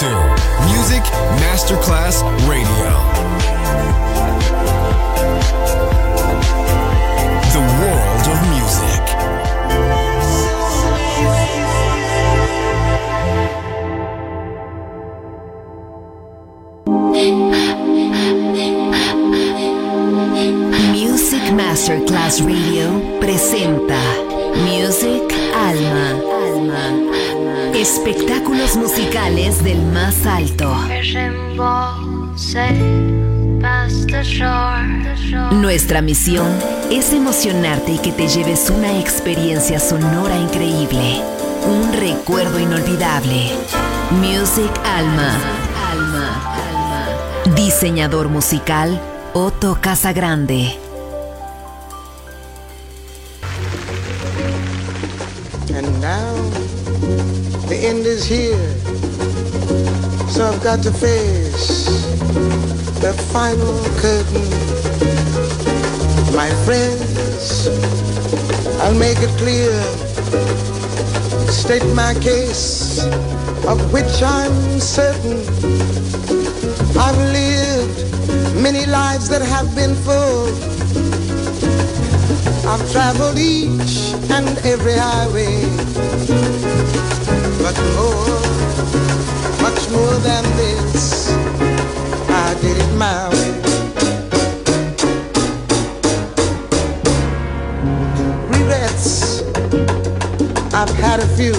to Music Masterclass Radio. The world of music. Music Masterclass Radio presenta Music Alma. Espectáculos musicales del más alto. Nuestra misión es emocionarte y que te lleves una experiencia sonora increíble, un recuerdo inolvidable. Music Alma. Diseñador musical Otto Casagrande. And now the end is here, so I've got to face the final curtain. My friends, I'll make it clear, state my case, of which I'm certain. I've lived many lives that have been full. I've traveled each and every highway, but more, much more than this, I did it my way. Regrets, I've had a few,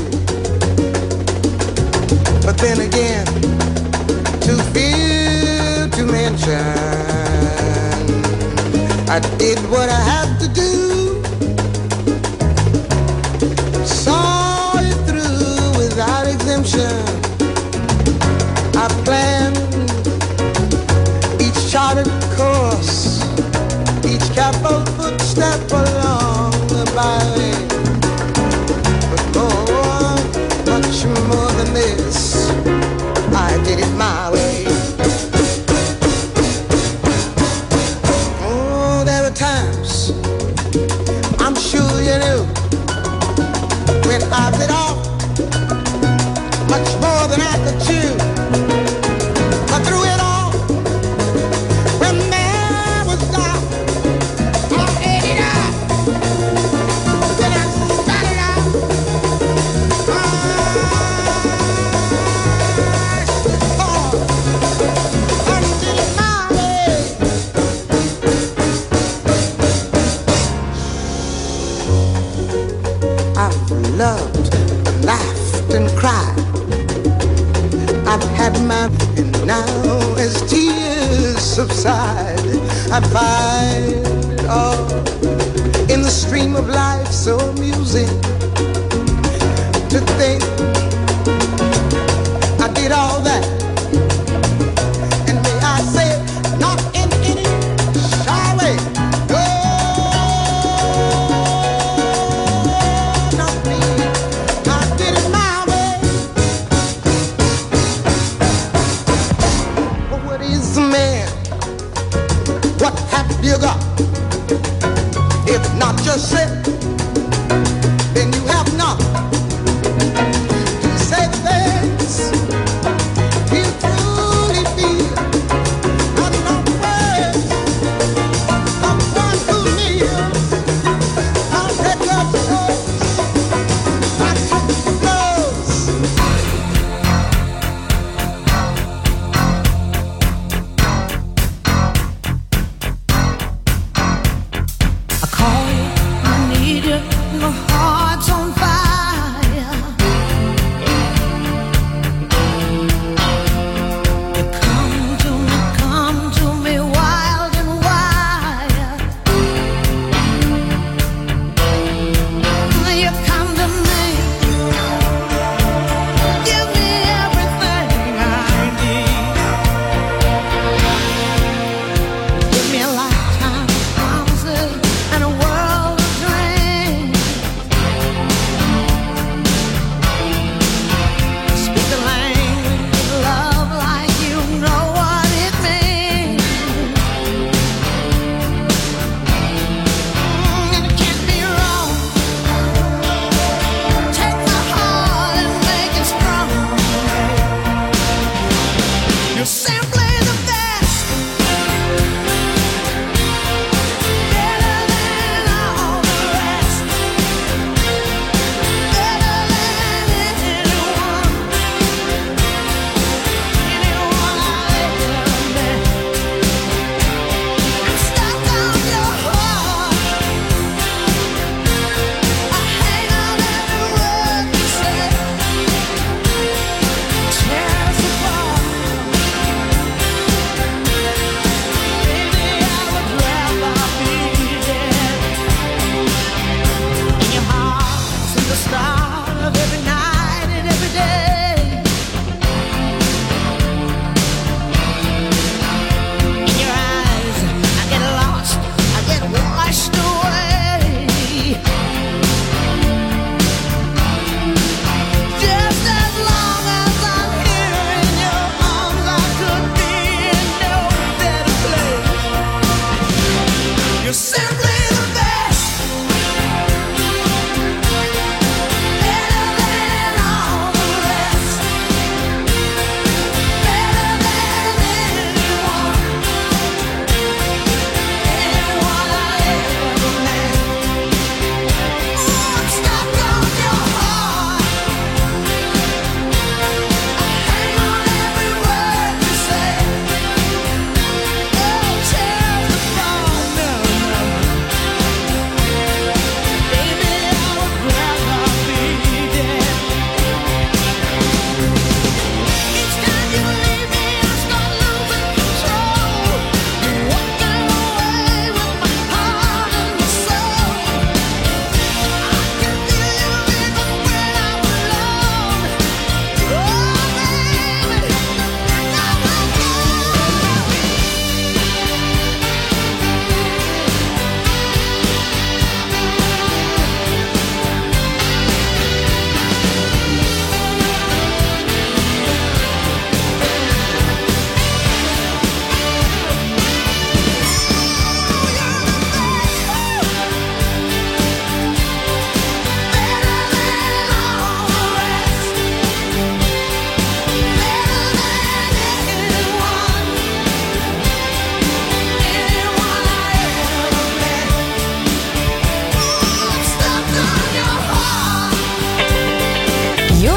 but then again, too few to mention. I did what I had to do. I planned each charted course, each careful footstep along the byway. But more, much more than this, I did it my way. Oh, there were times, I'm sure you knew, when I bit off much more than I could chew. But through it all, when there was doubt, I ate it up. Then I started out. I did it my way. I've loved, laughed, and cried. I've had my, and now as tears subside, I find it all in the stream of life so amusing to think I did all that, and may I say it, not in any shy way. Not me, I did it my way. What have you got? If not yourself, then you have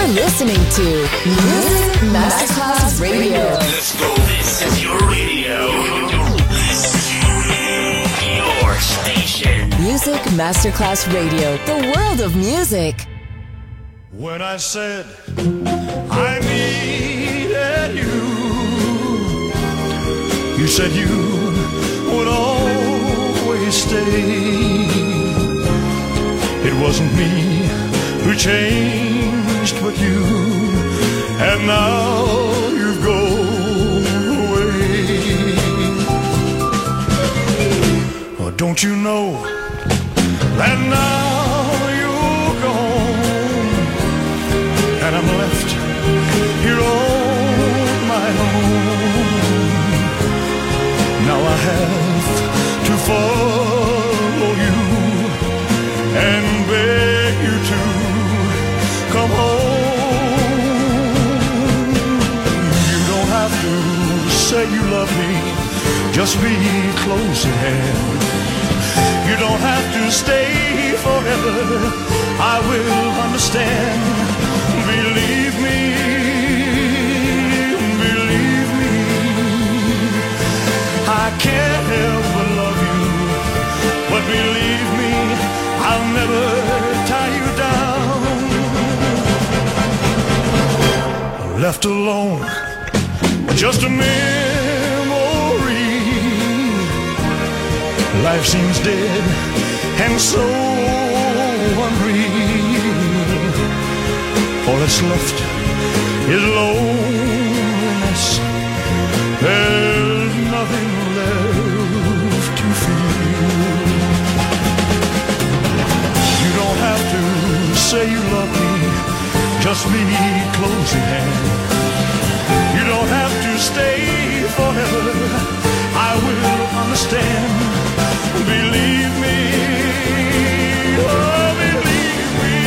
You're listening to Music Masterclass Radio. Let's go. This is your radio. Your station. Music Masterclass Radio. The world of music. When I said I needed you, you said you would always stay. It wasn't me who changed but you, and now you've gone away. Oh, don't you know that now you're gone, and I'm left here on my own. Now I have to follow you and beg you to come home. You don't have to say you love me, just be close at hand. You don't have to stay forever, I will understand. Believe me, I can't help but love you, but believe me, I'll never tie you down. Left alone, just a memory. Life seems dead and so unreal. All that's left is loneliness. There's nothing left to feel. You don't have to say you love me, just be close at hand. You don't have to stay forever, I will understand. Believe me, oh believe me,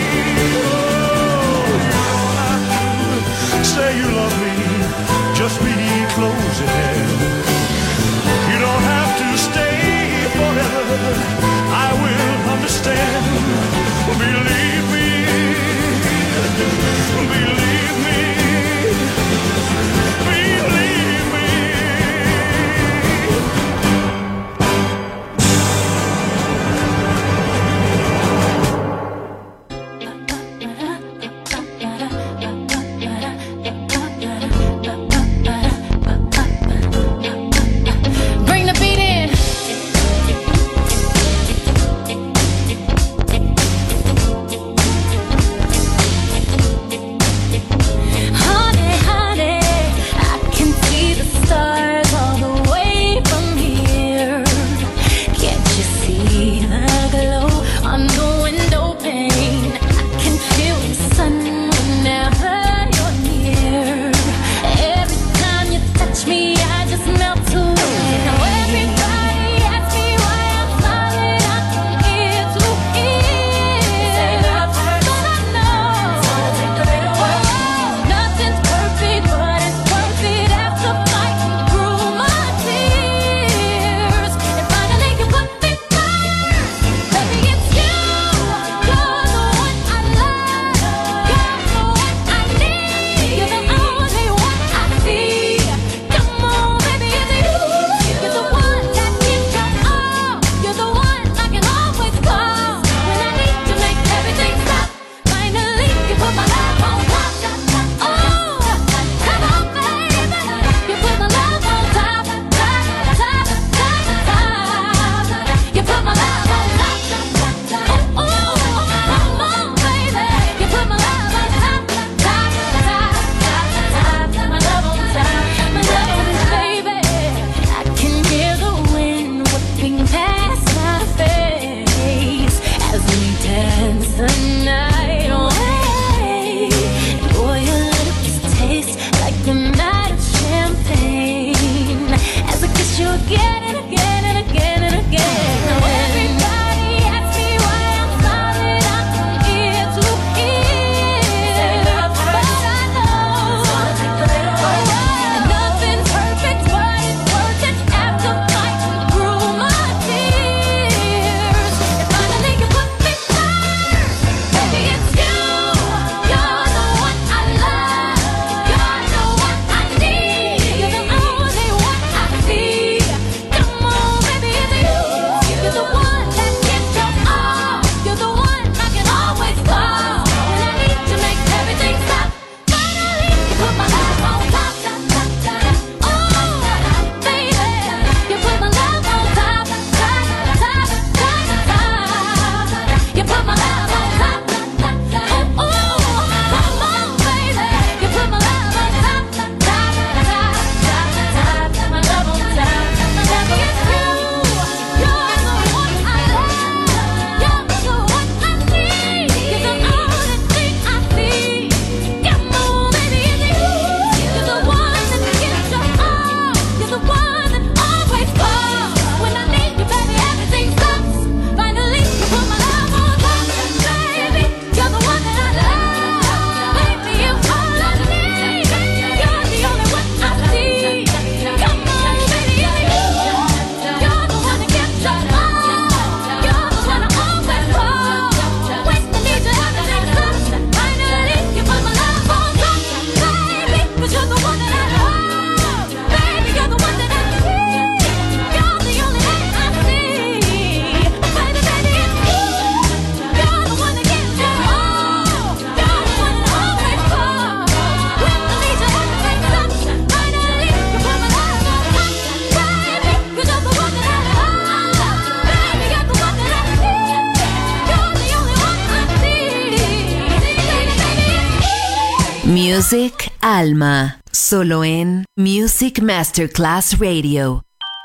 oh, you don't have to say you love me, just be close at hand. You don't have to stay forever, I will understand. Believe me, believe me, believe me. Music Alma, solo en Music Masterclass Radio.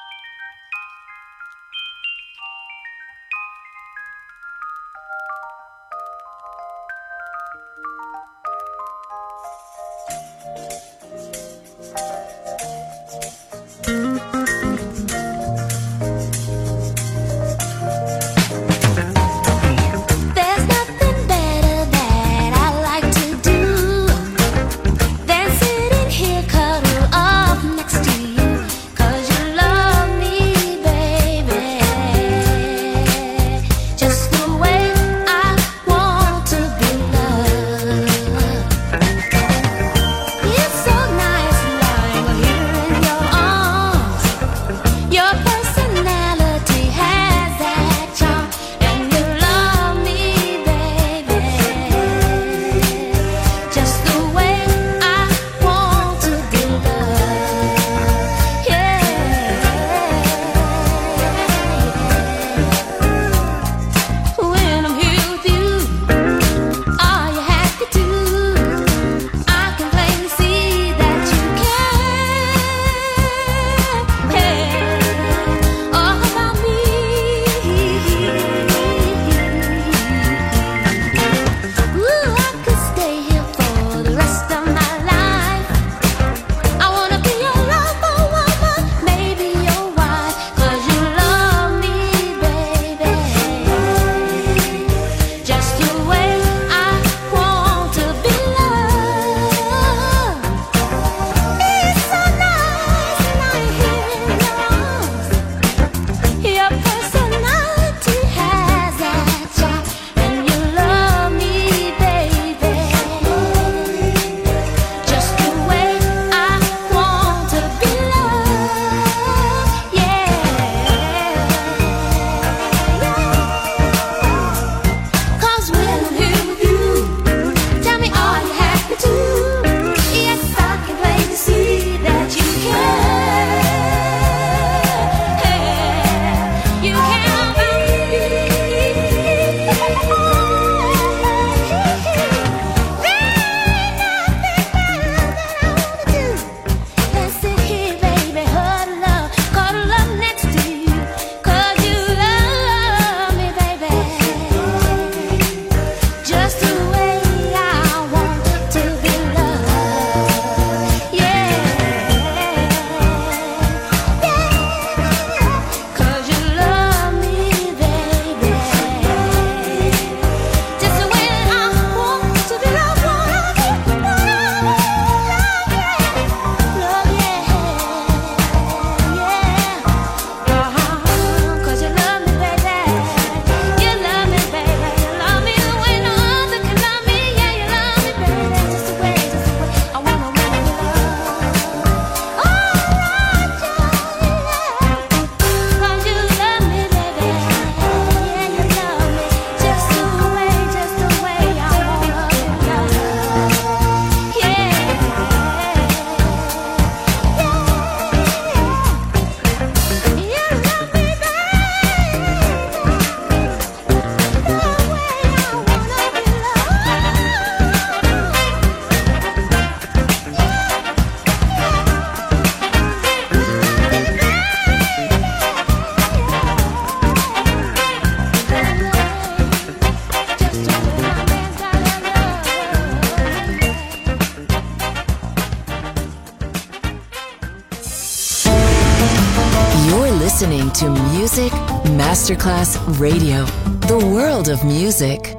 listening to Music Masterclass Radio, the world of music.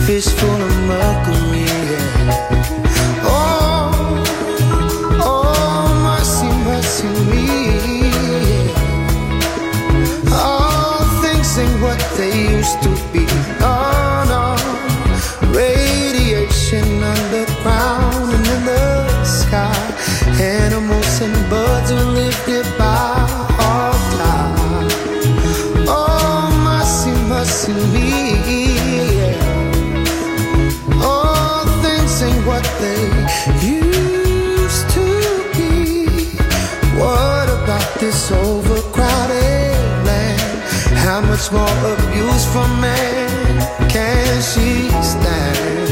fish full of mercury. Yeah. Oh, mercy, mercy me. Yeah. All things ain't what they used to be. Oh no, radiation underground and in the sky. Animals and birds who live nearby all die. Oh, mercy, mercy me. Yeah. All things ain't what they used to be. What about this overcrowded land? How much more abuse from man can she stand?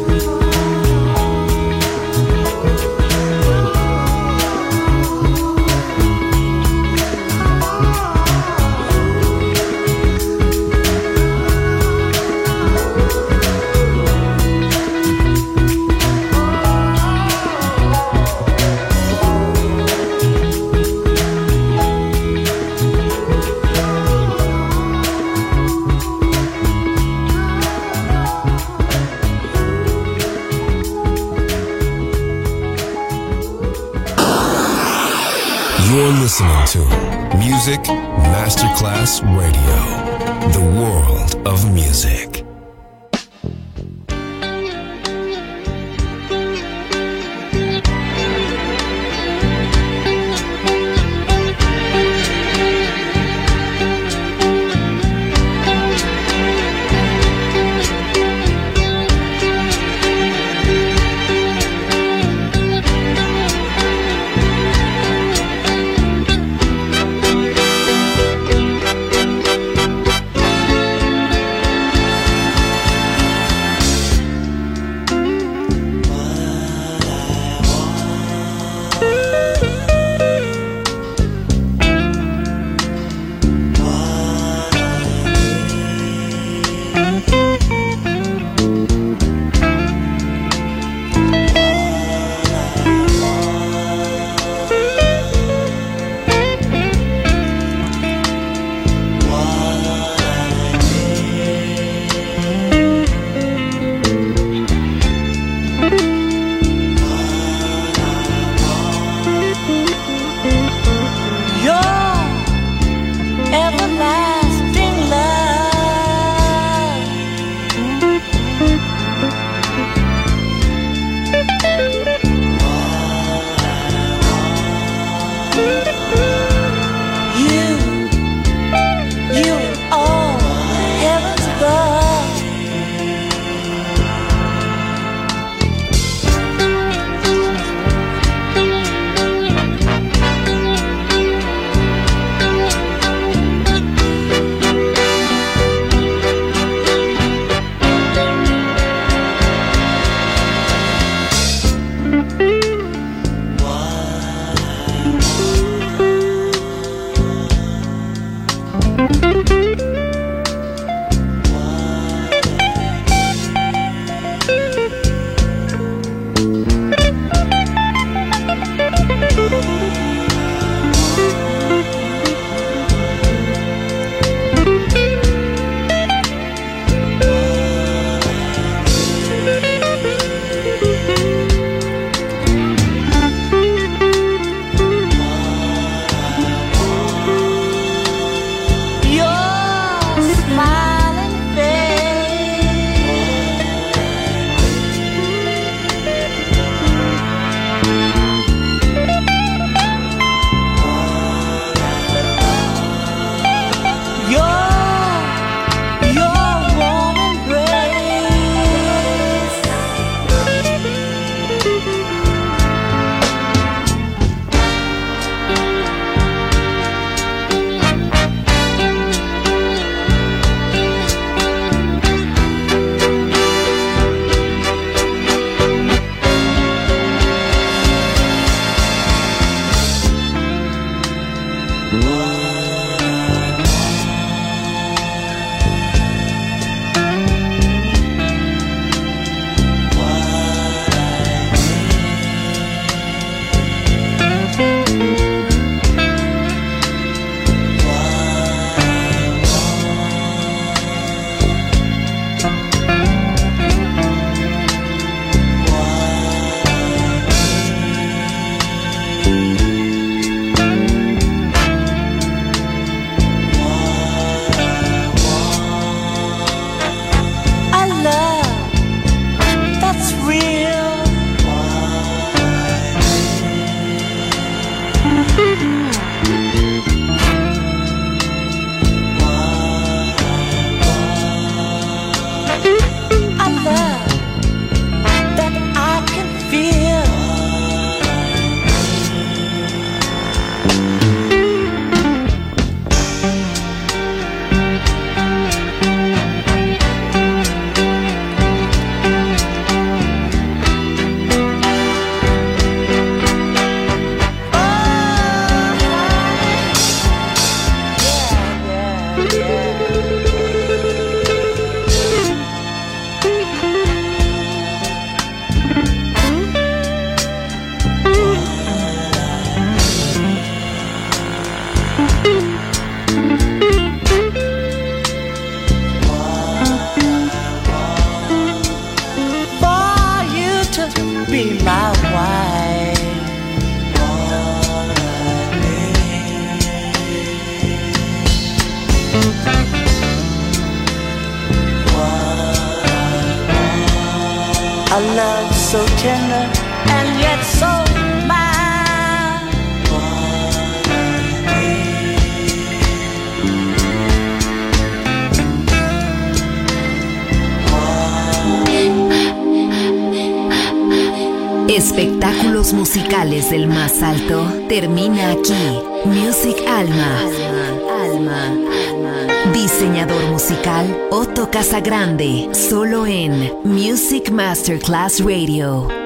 You're listening to Music Masterclass Radio, the world of music. A love so tender and yet so mild. Espectáculos musicales del más alto termina aquí. Music Alma. Diseñador musical Otto Casagrande, solo en Music Masterclass Radio.